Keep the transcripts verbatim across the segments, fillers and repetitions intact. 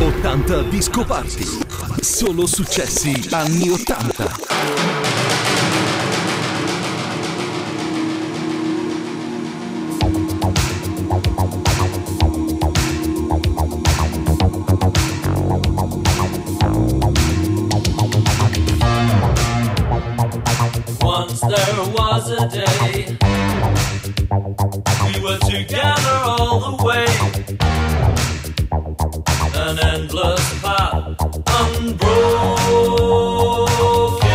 ottanta Disco Party. Solo successi anni ottanta. Once there was a day we were together all the way. An endless path unbroken.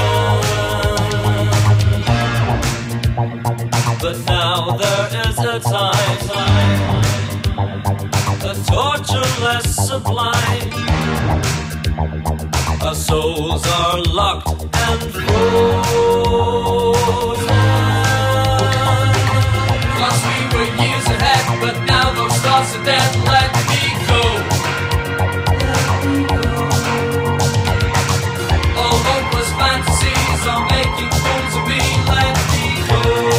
But now there is a time, time a torture less sublime. Our souls are locked and frozen. Cause we were years ahead, but now those thoughts are dead. Let me go. All hopeless fantasies are making fools of me. Let me go.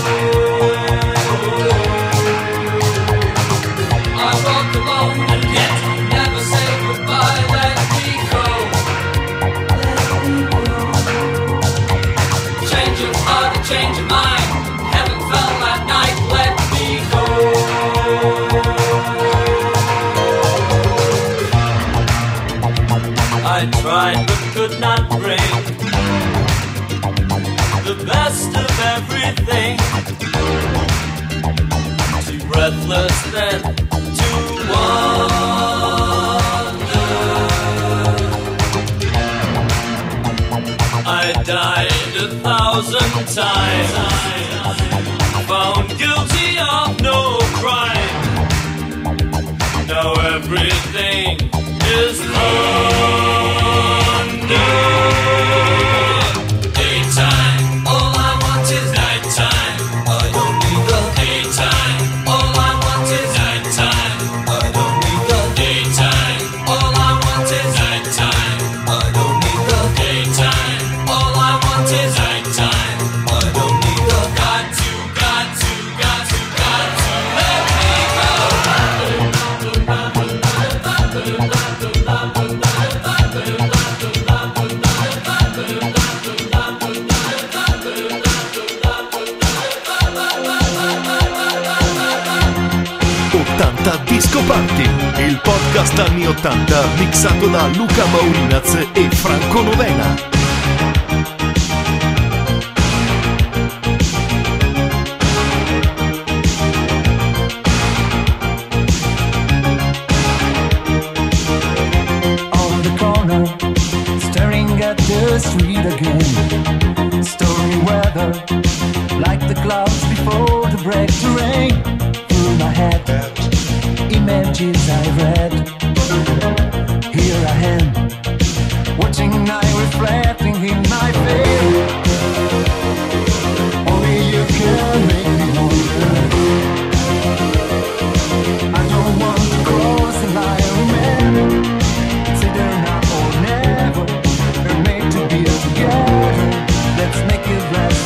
I walk alone and yet never say goodbye. Let me go. Change of heart, a change of mind. Heaven fell that night. Let me go. I tried but could not bring the best of everything. Too breathless then to wonder. I died a thousand times, found guilty of no crime. Now everything is under. Daytime, all I want is nighttime. I don't need the daytime. All I want is nighttime. I don't need the daytime. All I want is nighttime. I don't need the daytime. All I want is nighttime. I don't need the got to, got to, got to, got to let me go. ottanta Disco Party, il podcast anni ottanta mixato da Luca Maurinaz e Franco Novena. On the corner, staring at the street again. Stormy weather, like the clouds before the break to rain. Through my head, images I read. Here I am, watching night reflecting in my face. Only you can make me wonder. I don't want to cross the line, remember. It's either now or never. We're made to be together. Let's make it last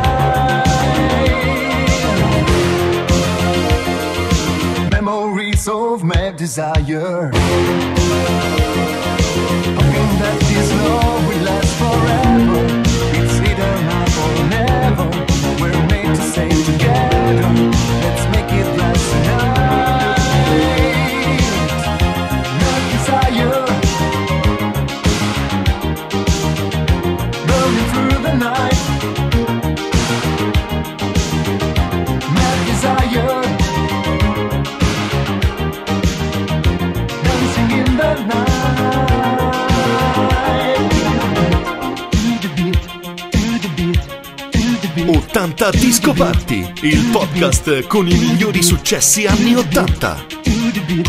tonight. Memories of my desire. Hoping that this love will last forever. It's either now or never. We're made to stay together. Let's make it last tonight. My desire, burning through the night. My desire, dancing in the night. To the beat, to the beat, to the beat. ottanta Disco Party, il podcast con i migliori successi anni ottanta. To the beat.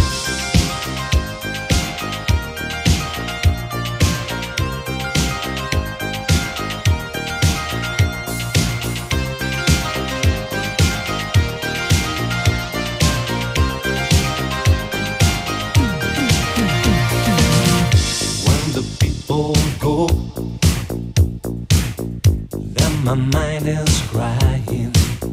When the people go, then my mind is crying.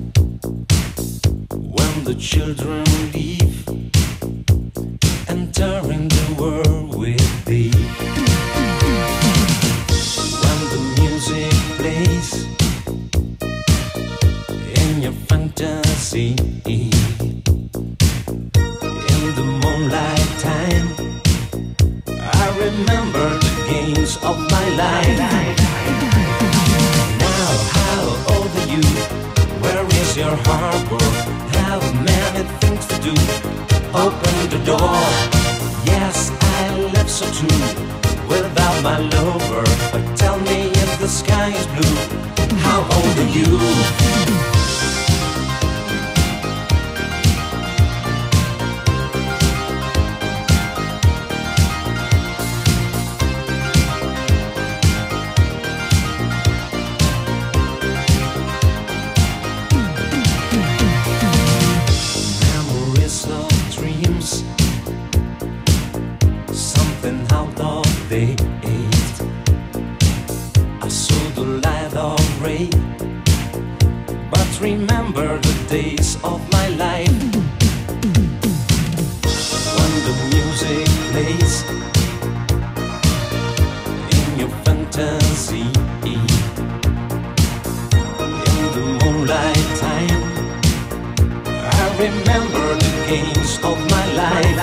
When the children leave, entering the world with remember the games of my life. Now, how old are you? Where is your harbor? Have many things to do. Open the door. Yes, I live so true without my lover. But tell me if the sky is blue, how old are you? Remember the days of my life when the music plays in your fantasy, in the moonlight time. I remember the games of my life.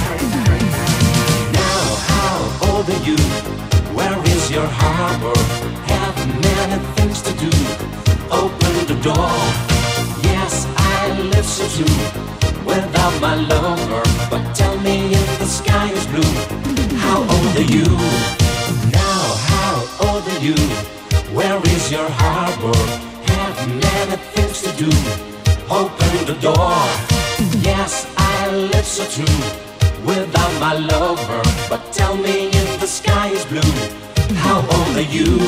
Now, how old are you? Where is your harbor? Have many things to do. Open the door. Yes, I live so true without my lover. But tell me if the sky is blue, how old are you? Now, how old are you? Where is your harbor? Have many things to do. Open the door. Yes, I live so true without my lover. But tell me if the sky is blue, how old are you?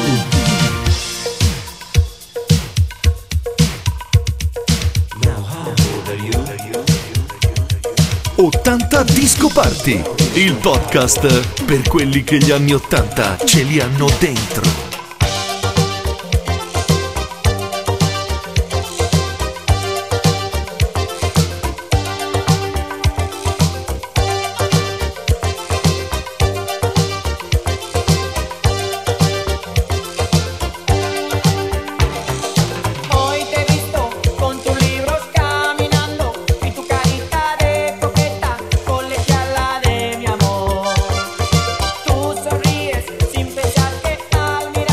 ottanta Disco Party, il podcast per quelli che gli anni ottanta ce li hanno dentro. Sonríes sin pensar que al mirar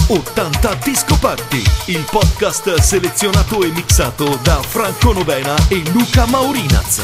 ottanta Disco Party, il podcast selezionato e mixato da Franco Novena e Luca Maurinaz.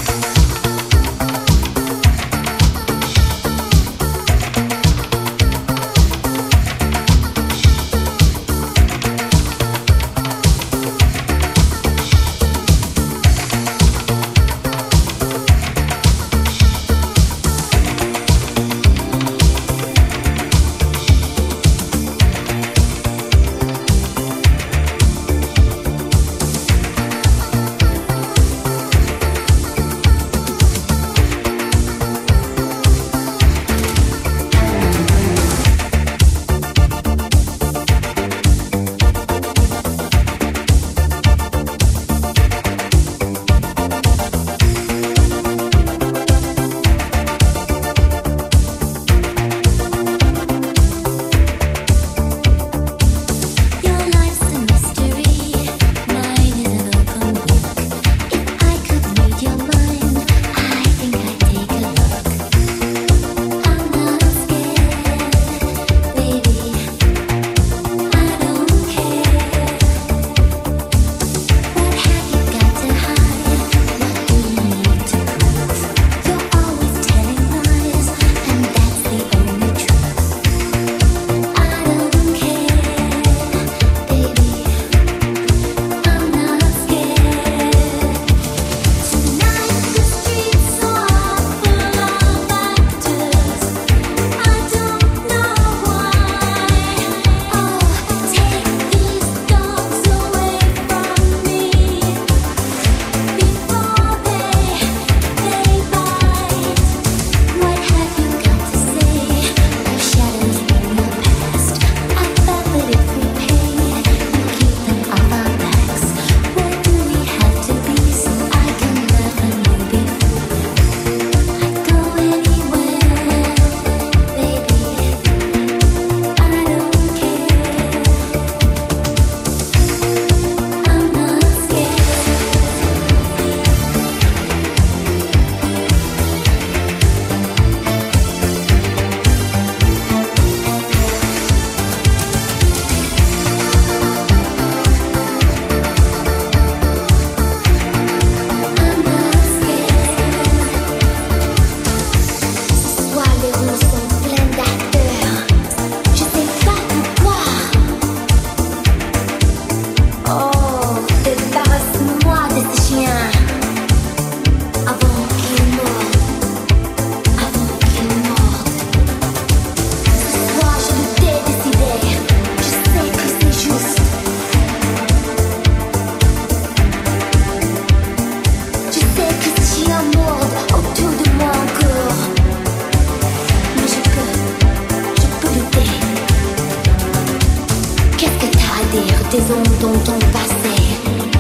Des ondes dont on passait.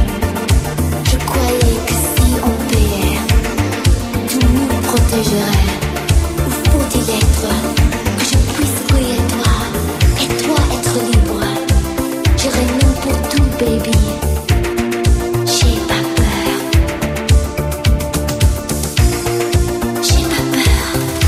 Je croyais que si on payait, tout nous protégerait. Où faut-il être que je puisse briller toi et toi être libre? J'irai n'importe où, baby. J'ai pas peur. J'ai pas peur.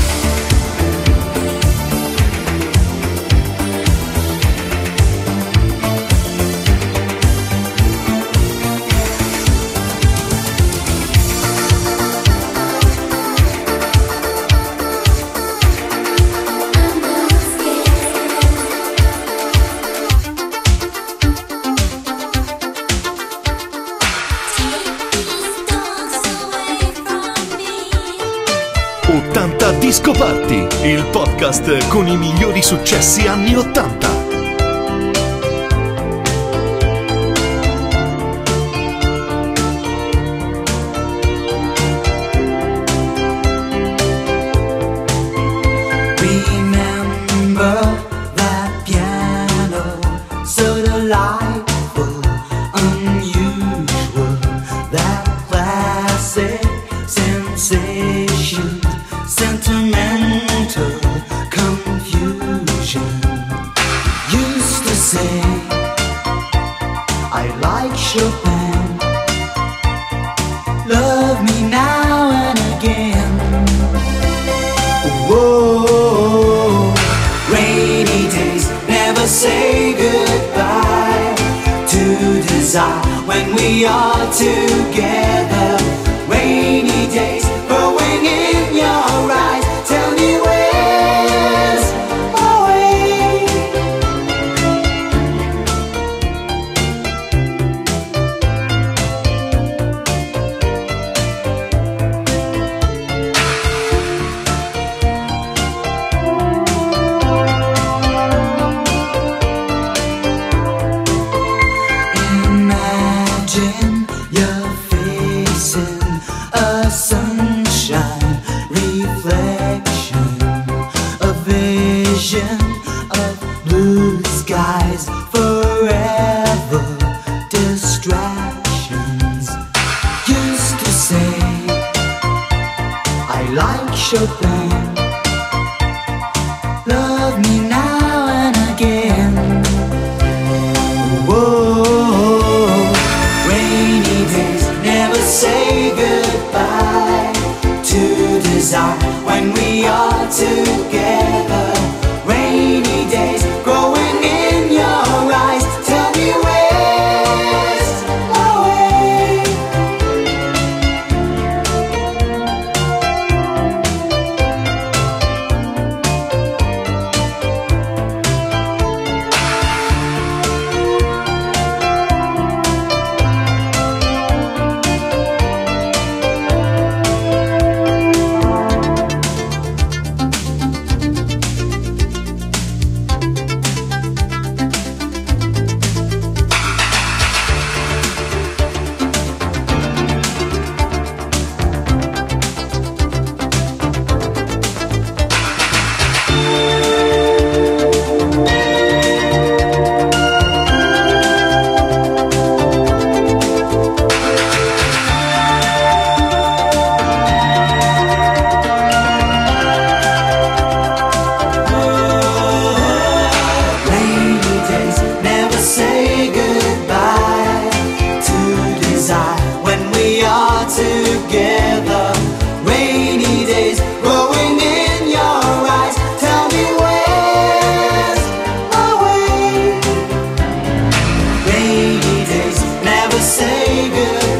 ottanta Disco Party, il podcast con i migliori successi anni ottanta. Remember that piano, so delightful, unusual, that classic sensation, sentimental confusion. Used to say I like Chopin, love me now and again. Whoa, rainy days never say desire when we are together. Rainy days growing in your eyes. Tell me where's my way? Imagine you're facing a sunshine reflection, a vision of blue skies, forever distractions. Used to say I like Chopin, love me now and again. Whoa, rainy days never say goodbye to desire when we are together. Rainy days growing in your eyes. Tell me where's my way? Rainy days never say goodbye to desire when we are together. Rainy days growing in your eyes. Tell me where's my way? Rainy days never say goodbye